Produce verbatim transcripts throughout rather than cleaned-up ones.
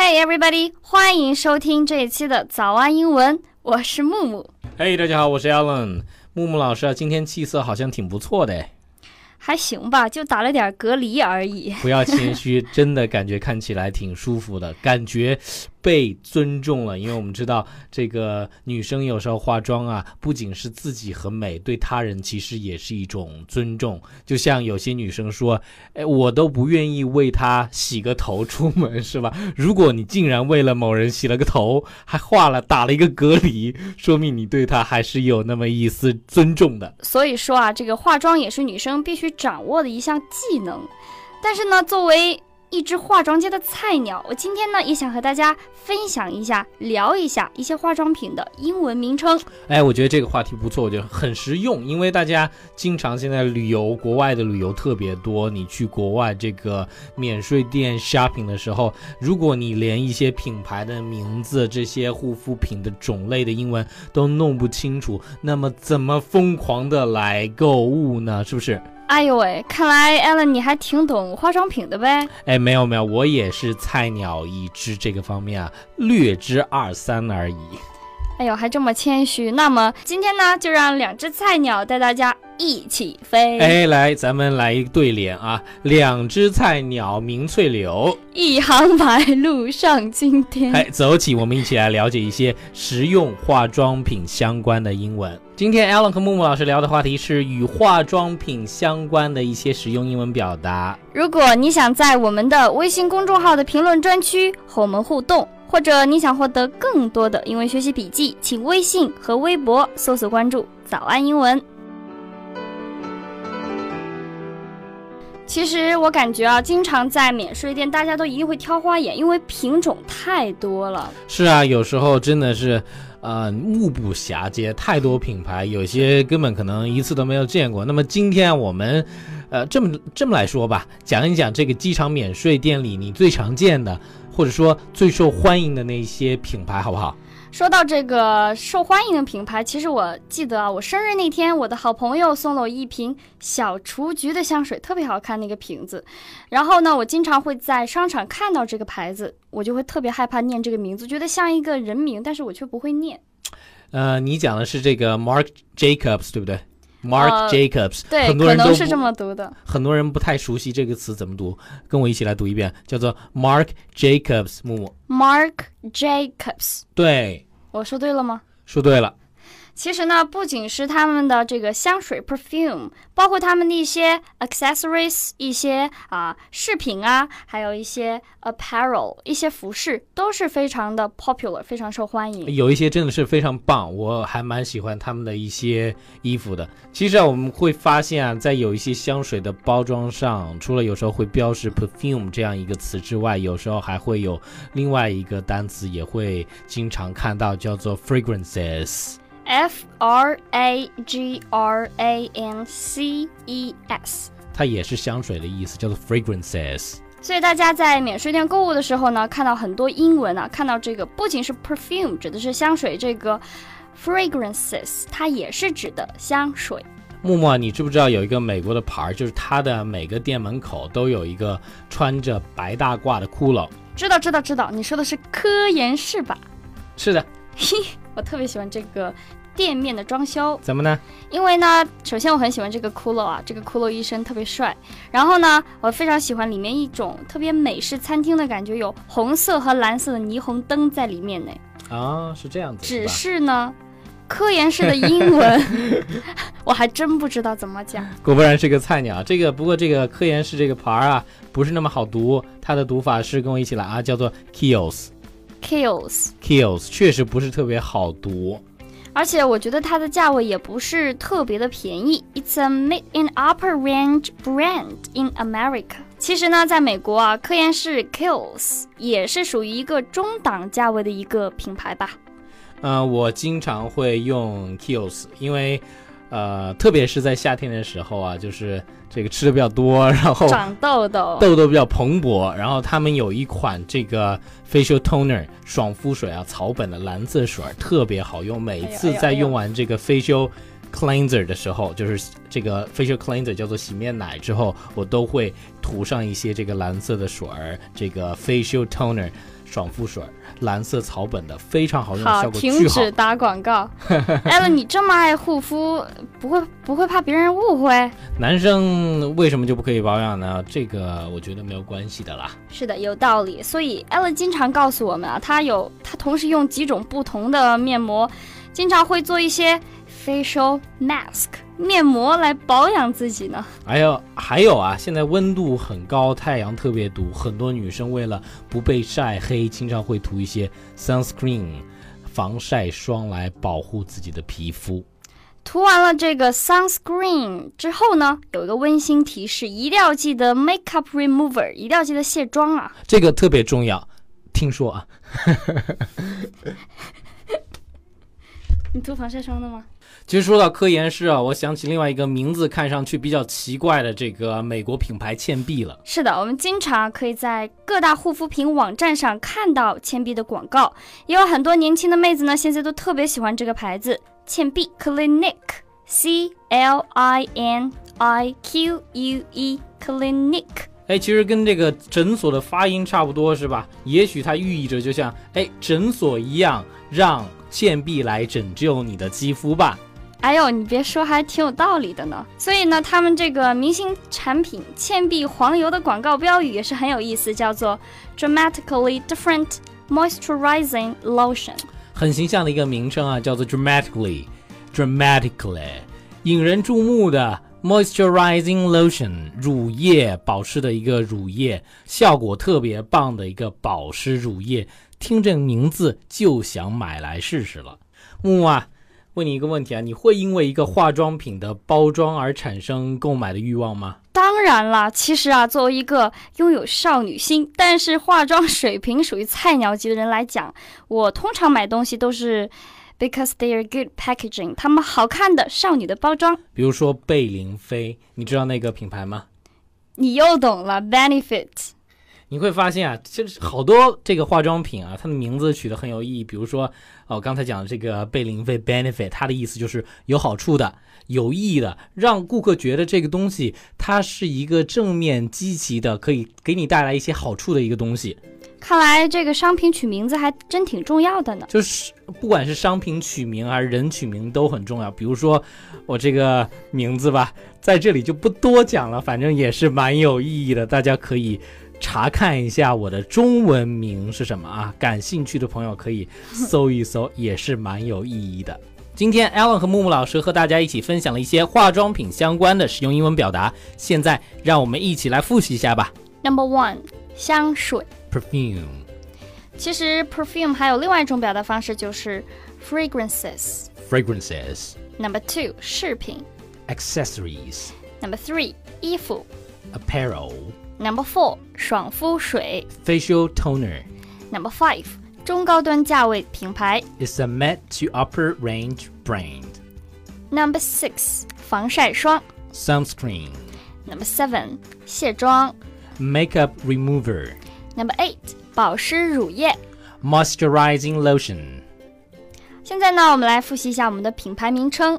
Hey everybody， 欢迎收听这一期的早安英文，我是木木。 Hey， 大家好，我是 Alan。木木老师啊，今天气色好像挺不错的。 还行吧，就打了点隔离而已。 不要谦虚，真的感觉看起来挺舒服的，感觉被尊重了。因为我们知道这个女生有时候化妆啊，不仅是自己很美，对他人其实也是一种尊重。就像有些女生说，哎，我都不愿意为她洗个头出门，是吧？如果你竟然为了某人洗了个头，还化了打了一个隔离，说明你对她还是有那么一丝尊重的。 所以说啊，这个化妆也是女生必须掌握的一项技能。但是呢，作为一只化妆界的菜鸟，我今天呢也想和大家分享一下，聊一下一些化妆品的英文名称。 哎，我觉得这个话题不错，我觉得很实用，因为大家经常现在旅游，国外的旅游特别多，你去国外这个免税店 shopping 的时候，如果你连一些品牌的名字，这些护肤品的种类的英文都弄不清楚，那么怎么疯狂的来购物呢？是不是？ 哎呦喂，看来 Alan 你还挺懂化妆品的呗？ 哎，没有没有，我也是菜鸟一只，这个方面啊，略知二三而已。 哎呦，还这么谦虚。那么今天呢，就让两只菜鸟带大家一起飞。 哎，来，咱们来一个对联啊，两只菜鸟鸣翠柳， 一行白鹭上青天。 哎，走起，我们一起来了解一些实用化妆品相关的英文。今天 Alan 和木木老师聊的话题是与化妆品相关的一些实用英文表达。 如果你想在我们的微信公众号的评论专区和我们互动，或者你想获得更多的英文学习笔记，请微信和微博搜索关注早安英文。其实我感觉啊，经常在免税店大家都一定会挑花眼，因为品种太多了。 是啊，有时候真的是呃，目不暇接，太多品牌，有些根本可能一次都没有见过。那么今天我们呃这么这么来说吧，讲一讲这个机场免税店里你最常见的，或者说最受欢迎的那些品牌，好不好？ 说到这个受欢迎的品牌，其实我记得啊，我生日那天，我的好朋友送了我一瓶小雏菊的香水，特别好看那个瓶子。然后呢，我经常会在商场看到这个牌子，我就会特别害怕念这个名字，觉得像一个人名，但是我却不会念。 呃，你讲的是这个 Marc Jacobs 对不对？Marc、呃、Jacobs， 对， 很多人都可能是这么读的。 很多人不太熟悉这个词怎么读，跟我一起来读一遍，叫做 Marc Jacobs。木木 Marc Jacobs， 对， 我说对了吗？ 说对了。 其实呢，不仅是他们的这个香水 perfume， 包括他们的一些 accessories， 一些啊饰品啊，还有一些 apparel， 一些服饰都是非常的 popular， 非常受欢迎。 有一些真的是非常棒，我还蛮喜欢他们的一些衣服的。其实啊，我们会发现啊，在有一些香水的包装上，除了有时候会标示 perfume 这样一个词之外，有时候还会有另外一个单词也会经常看到，叫做 fragrances。F R A G R A N C E S， 它也是香水的意思，叫做 fragrances。 所以大家在免税店购物的时候呢，看到很多英文啊，看到这个不仅是 perfume 指的是香水，这个 fragrances 它也是指的香水。 木木啊，你知不知道有一个美国的牌，就是它的每个店门口都有一个穿着白大褂的骷髅？ 知道知道知道，你说的是科颜氏吧？ 是的。 嘿，我特别喜欢这个店面的装修。 怎么呢？ 因为呢，首先我很喜欢这个骷髅啊，这个骷髅医生特别帅。然后呢，我非常喜欢里面一种特别美式餐厅的感觉，有红色和蓝色的霓虹灯在里面呢。 啊，是这样子。 只是呢，科研式的英文我还真不知道怎么讲。 果不然是个菜鸟。这个不过这个科研式这个牌啊，不是那么好读，它的读法是跟我一起来啊，叫做 Kiehl's。Kiehl's Kiehl's 确实不是特别好读， 而且我觉得它的价位也不是特别的便宜。It's a mid in upper range brand in America。其实呢，在美国啊，科研式 Kiehl's 也是属于一个中档价位的一个品牌吧。 呃，我经常会用 Kiehl's， 因为呃，特别是在夏天的时候啊，就是这个吃的比较多，然后长痘痘， 痘痘比较蓬勃，然后他们有一款这个 facial toner 爽肤水啊，草本的蓝色水特别好用，每次在用完这个 facial cleanser 的时候，就是这个 facial cleanser 叫做洗面奶之后，我都会涂上一些这个蓝色的水儿，这个 facial toner 爽肤水，蓝色草本的，非常好用， 好， 效果巨好。 停止打广告。Alan，你这么爱护肤，不会不会怕别人误会？ 男生为什么就不可以保养呢？这个我觉得没有关系的啦。 是的，有道理。所以 Alan 经常告诉我们啊，他有他同时用几种不同的面膜，经常会做一些 facial mask 面膜来保养自己呢。 还有还有啊，现在温度很高，太阳特别毒，很多女生为了不被晒黑，经常会涂一些 sunscreen 防晒霜来保护自己的皮肤。 涂完了这个 sunscreen 之后呢，有一个温馨提示，一定要记得 makeup remover， 一定要记得卸妆啊， 这个特别重要。听说啊， 你涂防晒霜的吗？ 其实说到科颜氏啊，我想起另外一个名字看上去比较奇怪的这个美国品牌倩碧了。 是的，我们经常可以在各大护肤品网站上看到倩碧的广告，也有很多年轻的妹子呢，现在都特别喜欢这个牌子，倩碧 Clinique C L I N I Q U E Clinique。 哎，其实跟这个诊所的发音差不多是吧？也许它寓意着就像哎诊所一样，让倩碧来拯救你的肌肤吧。 哎呦，你别说，还挺有道理的呢。所以呢，他们这个明星产品倩碧黄油的广告标语也是很有意思，叫做 Dramatically Different Moisturizing Lotion， 很形象的一个名称啊，叫做 Dramatically Dramatically 引人注目的 Moisturizing Lotion 乳液，保湿的一个乳液，效果特别棒的一个保湿乳液，听这名字就想买来试试了。木木啊，问你一个问题啊，你会因为一个化妆品的包装而产生购买的欲望吗？ 当然啦，其实啊，作为一个拥有少女心，但是化妆水平属于菜鸟级的人来讲，我通常买东西都是 because they are good packaging， 他们好看的少女的包装。 比如说贝玲妃，你知道那个品牌吗？ 你又懂了 Benefit。 你会发现啊，其实好多这个化妆品啊，它的名字取得很有意义。比如说，哦，刚才讲的这个贝玲妃 Benefit， 它的意思就是有好处的、有意义的，让顾客觉得这个东西它是一个正面积极的，可以给你带来一些好处的一个东西。 看来这个商品取名字还真挺重要的呢。 就是不管是商品取名还是人取名都很重要。比如说我这个名字吧，在这里就不多讲了，反正也是蛮有意义的，大家可以查看一下我的中文名是什么啊？感兴趣的朋友可以搜一搜，也是蛮有意义的。今天 Alan 和木木老师和大家一起分享了一些化妆品相关的实用英文表达，现在让我们一起来复习一下吧。 Number one， 香水 Perfume。 其实 perfume 还有另外一种表达方式，就是 fragrances。 Fragrances。 Number two， 饰品。 Accessories。 Number three， 衣服。 Apparel。 Number four， 爽肤水。 Facial toner。 Number five， 中高端价位品牌。 It's a mid to upper range brand。 Number six， 防晒霜。 Sunscreen。 Number seven， 卸妆。 Makeup remover。 Number eight， 保湿乳液。 Moisturizing lotion。 现在呢，我们来复习一下我们的品牌名称。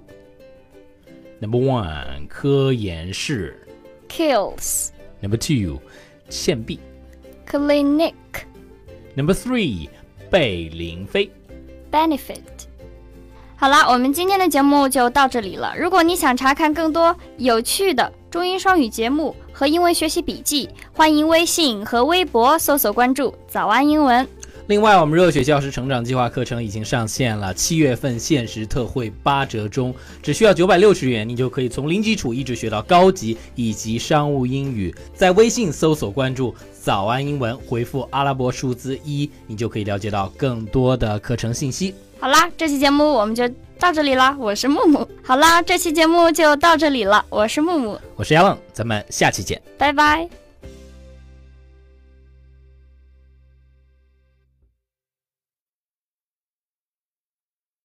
Number one， 科颜氏。 Kiehl's。 Number two， 倩碧。 Clinique。 Number three， 贝玲妃。 Benefit。 好啦，我们今天的节目就到这里了。如果你想查看更多有趣的中英双语节目和英文学习笔记，欢迎微信和微博搜索关注早安英文。 另外，我们热血教师成长计划课程已经上线了，七月份限时特惠八折中，只需要九百六十元，你就可以从零基础一直学到高级以及商务英语。在微信搜索关注早安英文，回复阿拉伯数字一，你就可以了解到更多的课程信息。 好啦，这期节目我们就到这里了，我是木木。好啦，这期节目就到这里了，我是木木， 我是 Alan， 咱们下期见， 拜拜。